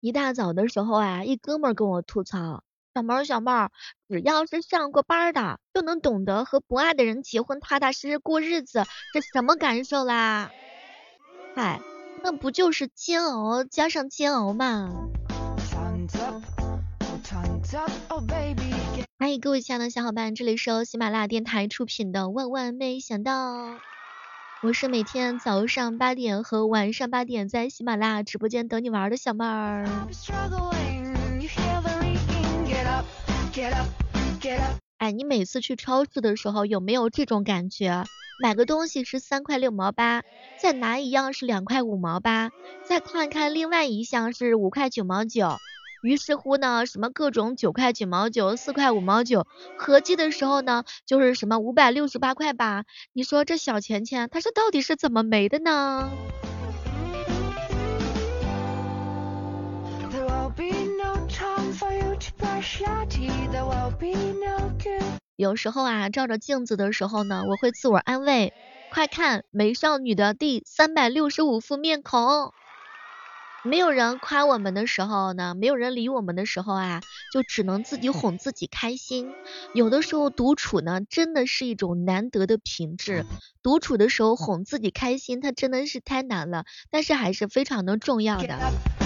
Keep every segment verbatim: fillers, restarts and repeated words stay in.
一大早的时候啊，一哥们儿跟我吐槽，小妹儿小妹儿，只要是上过班儿的，就能懂得和不爱的人结婚，踏踏实实过日子，这什么感受啦？嗨，那不就是煎熬加上煎熬嘛？欢迎各位亲爱的小伙伴，这里是由喜马拉雅电台出品的《万万没想到》，我是每天早上八点和晚上八点在喜马拉雅直播间等你玩的小妹儿。哎，你每次去超市的时候有没有这种感觉？买个东西是三块六毛八，再拿一样是两块五毛八，再看看另外一项是五块九毛九。于是乎呢，什么各种九块九毛九、四块五毛九，合计的时候呢，就是什么五百六十八块八。你说这小钱钱，它是到底是怎么没的呢？有时候啊，照着镜子的时候呢，我会自我安慰，快看美少女的第三百六十五副面孔。没有人夸我们的时候呢，没有人理我们的时候啊，就只能自己哄自己开心。有的时候独处呢，真的是一种难得的品质。独处的时候哄自己开心，它真的是太难了，但是还是非常的重要的。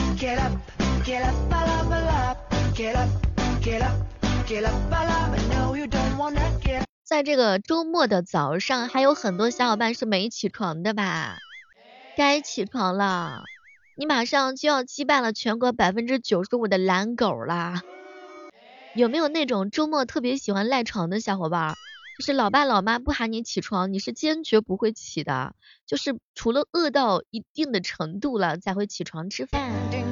在这个周末的早上，还有很多小伙伴是没起床的吧？该起床了。你马上就要击败了全国百分之九十五的懒狗啦！有没有那种周末特别喜欢赖床的小伙伴？就是老爸老妈不喊你起床，你是坚决不会起的，就是除了饿到一定的程度了才会起床吃饭。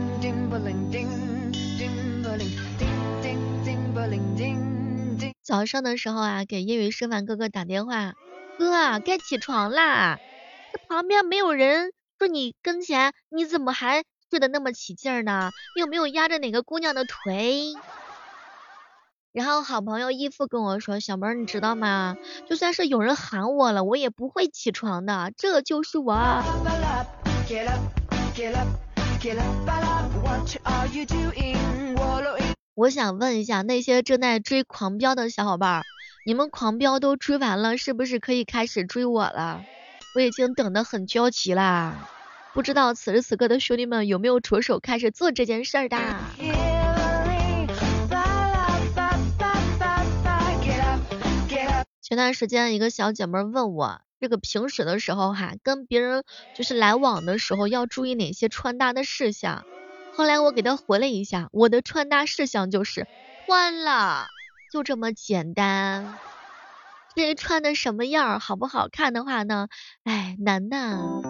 早上的时候啊，给业余师范哥哥打电话，哥啊，该起床啦！这旁边没有人。说你跟前，你怎么还睡得那么起劲儿呢？你有没有压着哪个姑娘的腿？然后好朋友义父跟我说，小妹儿你知道吗？就算是有人喊我了，我也不会起床的，这就是我。我想问一下那些正在追狂飙的小伙伴，你们狂飙都追完了，是不是可以开始追我了？我已经等得很焦急啦，不知道此时此刻的兄弟们有没有着手开始做这件事儿的？前段时间一个小姐妹问我，这个平时的时候哈，跟别人就是来往的时候要注意哪些穿搭的事项。后来我给她回了一下，我的穿搭事项就是穿了，就这么简单。至于穿的什么样好不好看的话呢，哎，难呐。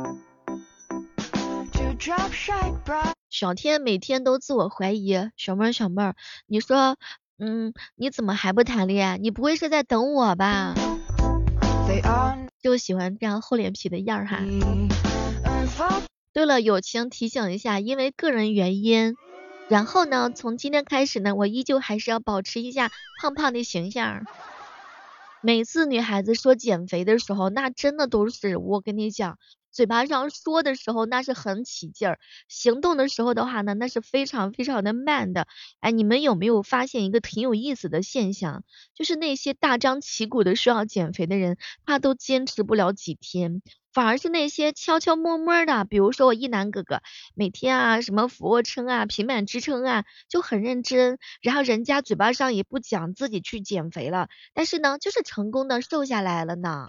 小天每天都自我怀疑，小妹儿小妹儿，你说，嗯，你怎么还不谈恋爱？你不会是在等我吧？就喜欢这样厚脸皮的样儿哈。对了，友情提醒一下，因为个人原因，然后呢，从今天开始呢，我依旧还是要保持一下胖胖的形象。每次女孩子说减肥的时候，那真的都是我跟你讲，嘴巴上说的时候那是很起劲儿，行动的时候的话呢，那是非常非常的慢的。哎，你们有没有发现一个挺有意思的现象？就是那些大张旗鼓的说要减肥的人，他都坚持不了几天。反而是那些悄悄摸摸的，比如说我一男哥哥，每天啊什么俯卧撑啊、平板支撑啊，就很认真，然后人家嘴巴上也不讲自己去减肥了，但是呢，就是成功的瘦下来了呢。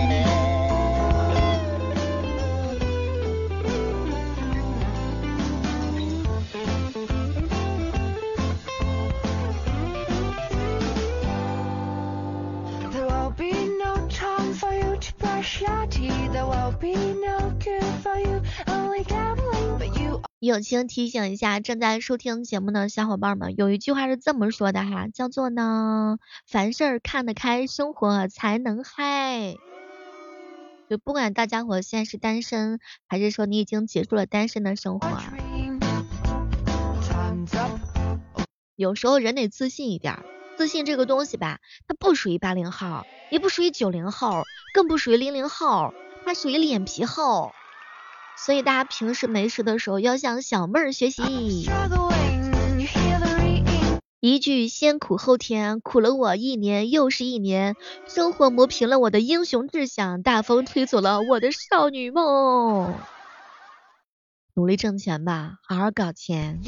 友情提醒一下正在收听节目的小伙伴们，有一句话是这么说的哈，叫做呢，凡事看得开，生活才能嗨。就不管大家伙现在是单身，还是说你已经结束了单身的生活，有时候人得自信一点。自信这个东西吧，它不属于八零后，也不属于九零后，更不属于零零后，它属于脸皮厚。所以大家平时没事的时候要向小妹儿学习。 一句先苦后甜，苦了我一年又是一年，生活磨平了我的英雄志向，大风吹走了我的少女梦。努力挣钱吧，好好搞钱。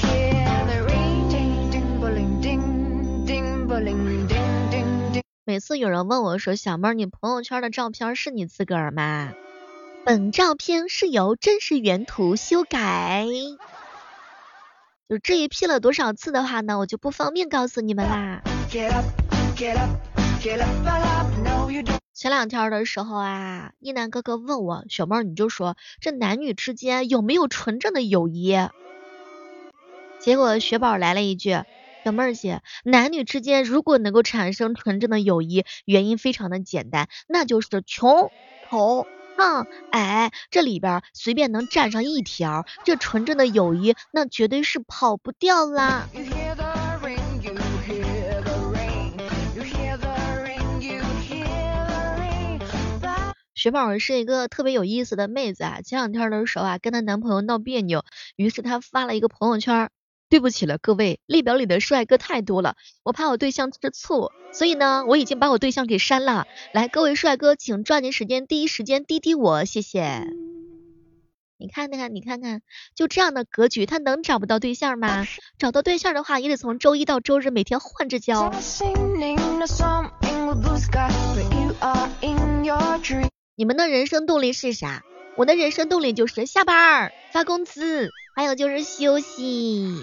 每次有人问我说，小妹儿，你朋友圈的照片是你自个儿吗？本照片是由真实原图修改。就这一 P 了多少次的话呢，我就不方便告诉你们啦。前两天的时候啊，一楠哥哥问我，小妹儿你就说这男女之间有没有纯正的友谊？结果雪宝来了一句，小妹儿姐，男女之间如果能够产生纯正的友谊，原因非常的简单，那就是穷丑胖矮，这里边随便能占上一条，这纯正的友谊那绝对是跑不掉啦。雪宝是一个特别有意思的妹子啊，前两天的时候啊，跟她男朋友闹别扭，于是她发了一个朋友圈，对不起了各位，列表里的帅哥太多了，我怕我对象吃醋，所以呢，我已经把我对象给删了。来，各位帅哥，请抓紧时间，第一时间滴滴我，谢谢。你看看，你看看，就这样的格局，他能找不到对象吗？找到对象的话，也得从周一到周日每天换着交。你们的人生动力是啥？我的人生动力就是下班发工资，还有就是休息。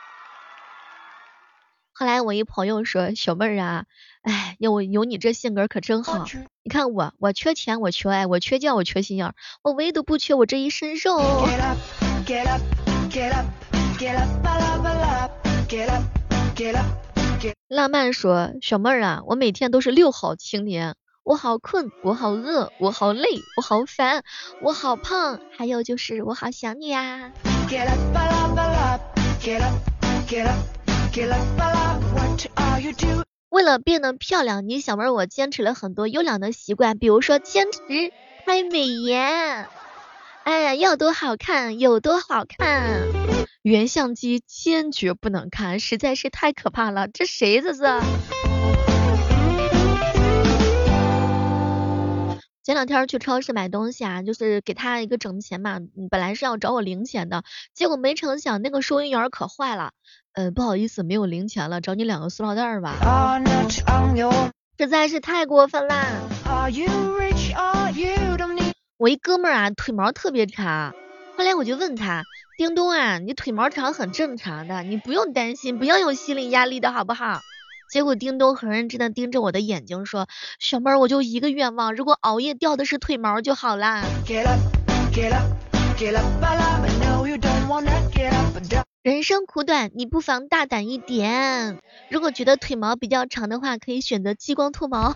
后来我一朋友说，小妹儿啊，哎，有有你这性格可真好。你看我，我缺钱，我缺爱，我缺觉，我缺心眼，我唯独不缺我这一身肉。浪漫说，小妹儿啊，我每天都是六好青年。我好困，我好饿，我好累，我好烦，我好胖，还有就是我好想你啊。为了变得漂亮，你小妹儿我坚持了很多优良的习惯，比如说坚持拍美颜。哎呀，要多好看有多好看，原相机坚决不能看，实在是太可怕了，这谁这是？前两天去超市买东西啊，就是给他一个整钱嘛，本来是要找我零钱的，结果没成想那个收银员可坏了，呃，不好意思，没有零钱了，找你两个塑料袋吧。实在是太过分啦！我一哥们儿啊，腿毛特别长，后来我就问他，叮咚啊，你腿毛长很正常的，你不用担心，不要有心理压力的好不好？结果叮咚很认真的盯着我的眼睛说，小妹儿我就一个愿望，如果熬夜掉的是腿毛就好啦。人生苦短，你不妨大胆一点，如果觉得腿毛比较长的话，可以选择激光脱毛。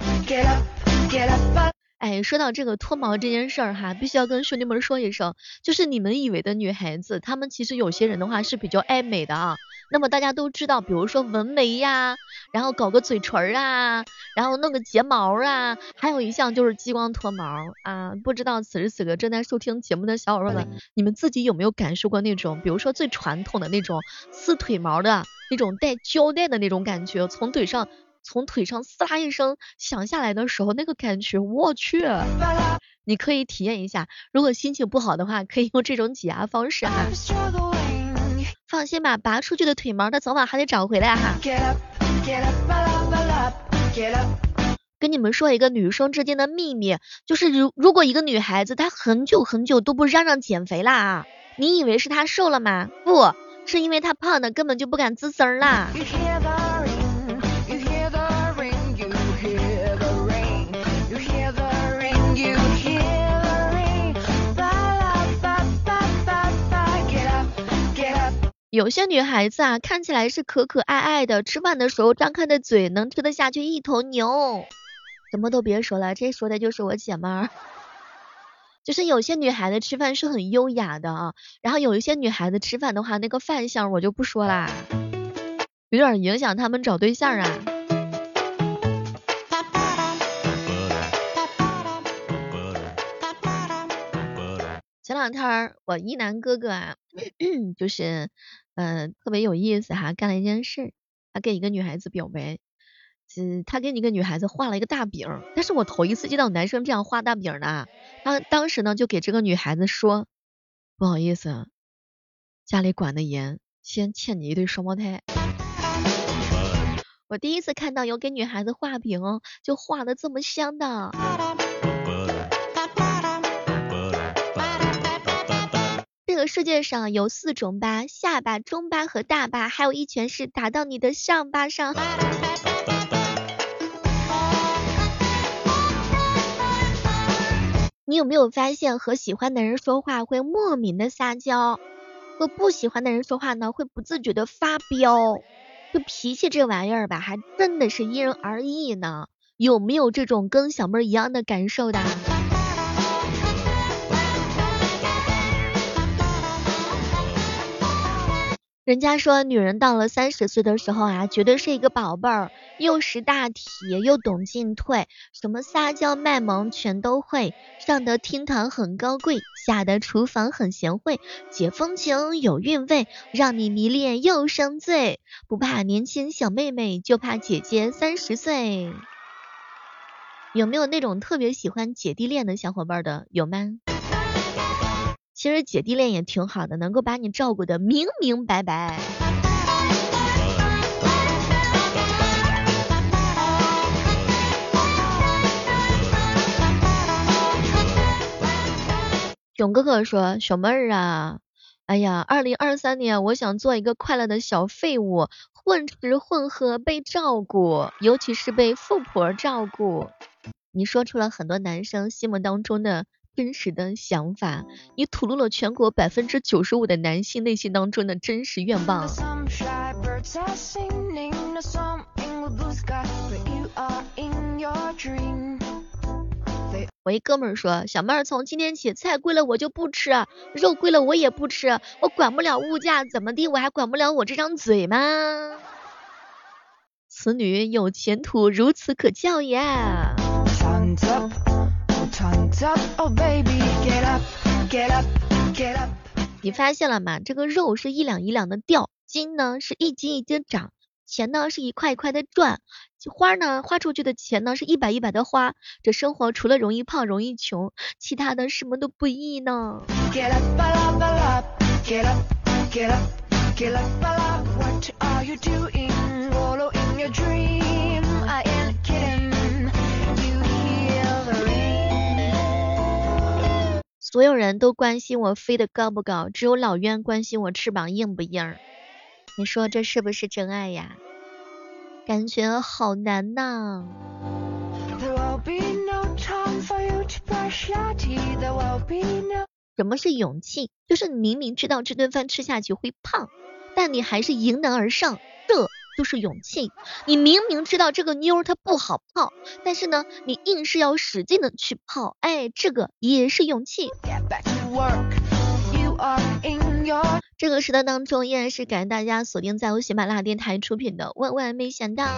哎，说到这个脱毛这件事儿哈，必须要跟兄弟们说一声，就是你们以为的女孩子，她们其实有些人的话是比较爱美的啊。那么大家都知道，比如说纹眉呀，然后搞个嘴唇啊，然后弄个睫毛啊，还有一项就是激光脱毛啊。不知道此时此刻正在收听节目的小伙伴们，你们自己有没有感受过那种，比如说最传统的那种撕腿毛的那种带胶带的那种感觉，从腿上。从腿上撕啦一声响下来的时候，那个感觉，我去，你可以体验一下。如果心情不好的话，可以用这种挤压方式哈。放心吧，拔出去的腿毛，它早晚还得长回来哈。跟你们说一个女生之间的秘密，就是如如果一个女孩子她很久很久都不嚷嚷减肥啦，你以为是她瘦了吗？不是，因为她胖的根本就不敢吱声啦。有些女孩子啊，看起来是可可爱爱的，吃饭的时候张开的嘴能吃得下去一头牛。什么都别说了，这说的就是我姐妹儿。就是有些女孩子吃饭是很优雅的啊，然后有一些女孩子吃饭的话，那个饭相我就不说啦，有点影响她们找对象啊。前两天我一男哥哥啊，就是嗯、呃，特别有意思哈，干了一件事，他给一个女孩子表白，嗯，他给一个女孩子画了一个大饼，但是我头一次见到男生这样画大饼的，他当时呢就给这个女孩子说，不好意思，家里管得严，先欠你一对双胞胎。我第一次看到有给女孩子画饼就画的这么香的。这个世界上有四种疤，下巴、中巴和大巴，还有一拳是打到你的上巴上。你有没有发现和喜欢的人说话会莫名的撒娇，和不喜欢的人说话呢会不自觉的发飙？就脾气这玩意儿吧，还真的是因人而异呢。有没有这种跟小妹儿一样的感受的？人家说女人到了三十岁的时候啊，绝对是一个宝贝儿，又识大体，又懂进退，什么撒娇卖萌全都会，上得厅堂很高贵，下得厨房很贤惠，解风情有韵味，让你迷恋又生醉，不怕年轻小妹妹，就怕姐姐三十岁。有没有那种特别喜欢姐弟恋的小伙伴的？有吗？其实姐弟恋也挺好的，能够把你照顾得明明白白。囧哥哥说，小妹儿啊，哎呀，二零二三年我想做一个快乐的小废物，混吃混喝被照顾，尤其是被富婆照顾。你说出了很多男生心目当中的真实的想法，你吐露了全国百分之九十五的男性内心当中的真实愿望。我一哥们儿说，小妹儿从今天起菜贵了我就不吃，肉贵了我也不吃，我管不了物价怎么地，我还管不了我这张嘴吗？此女有前途，如此可教呀。你发现了吗？这个肉是一两一两的掉，金呢是一斤一斤涨，钱呢是一块一块的赚，花呢花出去的钱呢是一百一百的花。这生活除了容易胖容易穷，其他的什么都不易呢。所有人都关心我飞得高不高，只有老冤关心我翅膀硬不硬。你说这是不是真爱呀？感觉好难呐。什么是勇气？就是你明明知道这顿饭吃下去会胖，但你还是迎难而上，这就是勇气。你明明知道这个妞它不好泡，但是呢你硬是要使劲的去泡，哎，这个也是勇气。这个时段当中依然是感谢大家锁定在由喜马拉雅电台出品的万万没想到。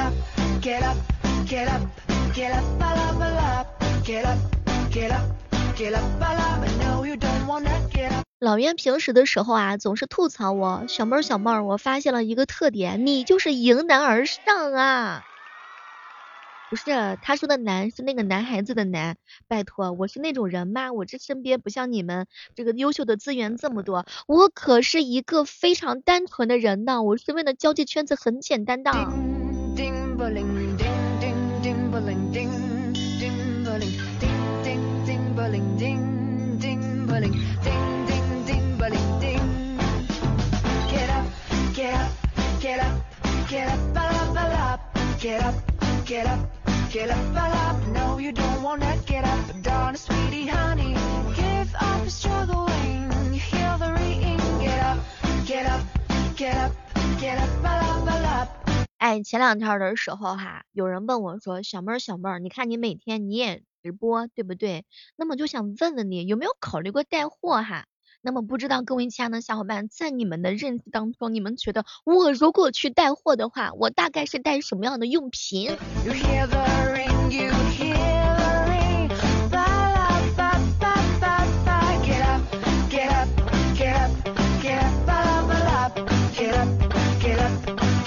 老袁平时的时候啊，总是吐槽我，小妹儿小妹儿，我发现了一个特点，你就是迎难而上啊。不是，他说的难是那个男孩子的难，拜托，我是那种人吗？我这身边不像你们这个优秀的资源这么多，我可是一个非常单纯的人呢，我身边的交际圈子很简单的。Get up, up, no you don't wanna get up, darling sweetie honey, give up struggling, you hear the ringing, get up, get up, get up, get up, up, up. 哎，前两天的时候哈，有人问我说，小妹儿小妹儿，你看你每天你也直播对不对？那么就想问问你有没有考虑过带货哈？那么不知道各位亲爱的小伙伴，在你们的认知当中，你们觉得我如果去带货的话，我大概是带什么样的用品？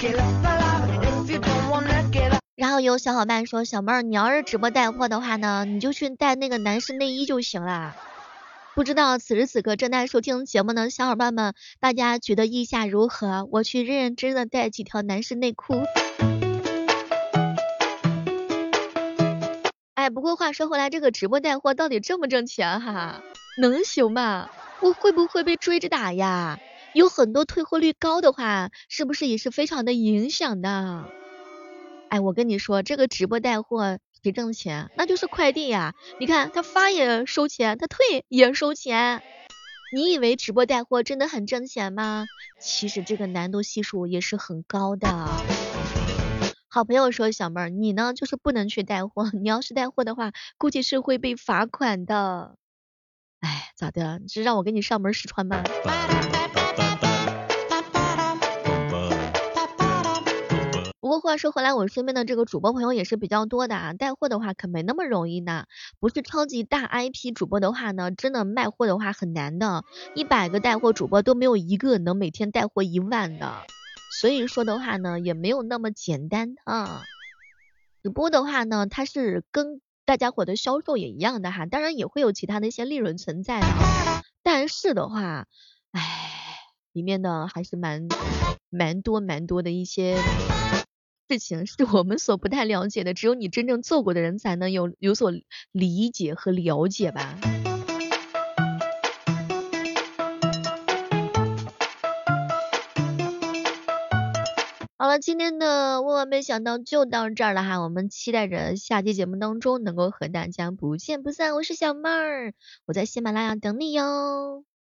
然后有小伙伴说，小妹儿，你要是直播带货的话呢，你就去带那个男士内衣就行了。不知道此时此刻正在收听节目的小伙伴们，大家觉得意下如何？我去认认真的带几条男士内裤。哎，不过话说回来，这个直播带货到底挣不挣钱哈？能行吗？我会不会被追着打呀？有很多退货率高的话，是不是也是非常的影响的？哎，我跟你说，这个直播带货谁挣钱？那就是快递呀。你看他发也收钱，他退也收钱。你以为直播带货真的很挣钱吗？其实这个难度系数也是很高的。好朋友说，小妹儿，你呢就是不能去带货，你要是带货的话，估计是会被罚款的。哎，咋的？你是让我给你上门试穿吗？不过话说回来，我身边的这个主播朋友也是比较多的啊，带货的话可没那么容易呢。不是超级大 I P 主播的话呢，真的卖货的话很难的，一百个带货主播都没有一个能每天带货一万的。所以说的话呢，也没有那么简单啊。直播的话呢，它是跟大家伙的销售也一样的哈，当然也会有其他的一些利润存在的啊。但是的话，唉，里面呢还是蛮蛮多蛮多的一些事情是我们所不太了解的，只有你真正做过的人才能有有所理解和了解吧。好了，今天的万万没想到就到这儿了哈，我们期待着下期节目当中能够和大家不见不散。我是小妹儿，我在喜马拉雅等你哟。